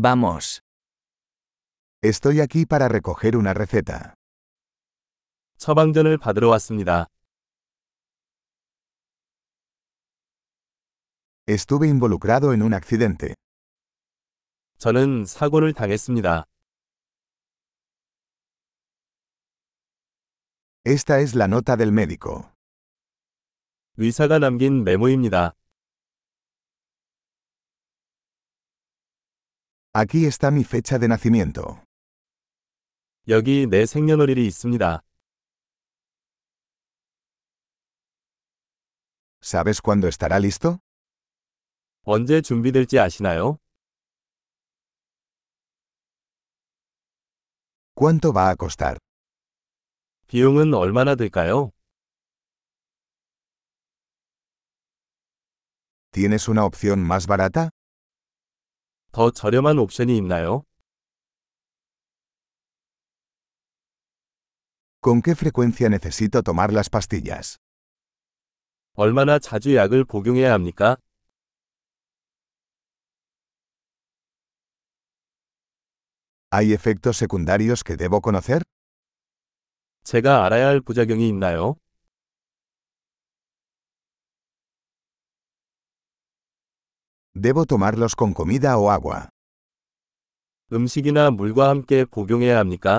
Vamos. Estoy aquí para recoger una receta. 처방전을 받으러 왔습니다. Estuve involucrado en un accidente. 저는 사고를 당했습니다. Esta es la nota del médico. 의사가 남긴 메모입니다. Aquí está mi fecha de nacimiento. 여기 내 생년월일이 있습니다. ¿Sabes cuándo estará listo? 언제 준비될지 아시나요? ¿Cuánto va a costar? 비용은 얼마나 들까요? ¿Tienes una opción más barata? 더 저렴한 옵션이 있나요? ¿Con qué frecuencia necesito tomar las pastillas? 얼마나 자주 약을 복용해야 합니까? ¿Hay efectos secundarios que debo conocer? 제가 알아야 할 부작용이 있나요? ¿Debo tomarlos con comida o agua? 음식이나 물과 함께 복용해야 합니까?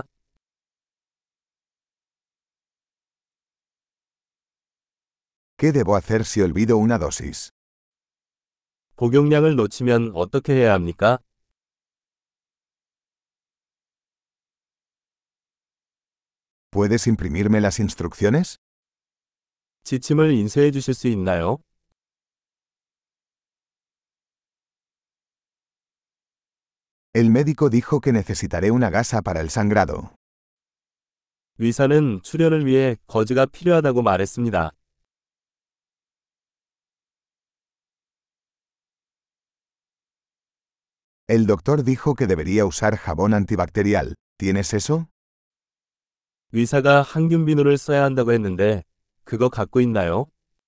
¿Qué debo hacer si olvido una dosis? 복용량을 놓치면 어떻게 해야 합니까? ¿Puedes imprimirme las instrucciones? 지침을 인쇄해 주실 수 있나요? El médico dijo que necesitaré una gasa para el sangrado. 의사는 출혈을 위해 거즈가 필요하다고 말했습니다. El doctor dijo que debería usar jabón antibacterial. ¿Tienes eso? 의사가 항균 비누를 써야 한다고 했는데 그거 갖고 있나요?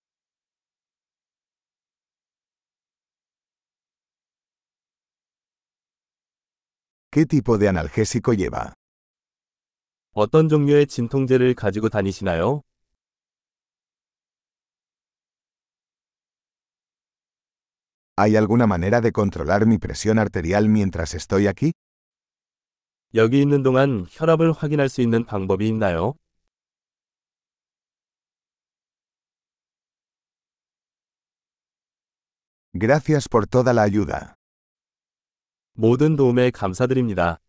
¿Qué tipo de analgésico lleva? 어떤 종류의 진통제를 가지고 다니시나요? ¿Hay alguna manera de controlar mi presión arterial mientras estoy aquí? 여기 있는 동안 혈압을 확인할 수 있는 방법이 있나요? Gracias por toda la ayuda. 모든 도움에 감사드립니다.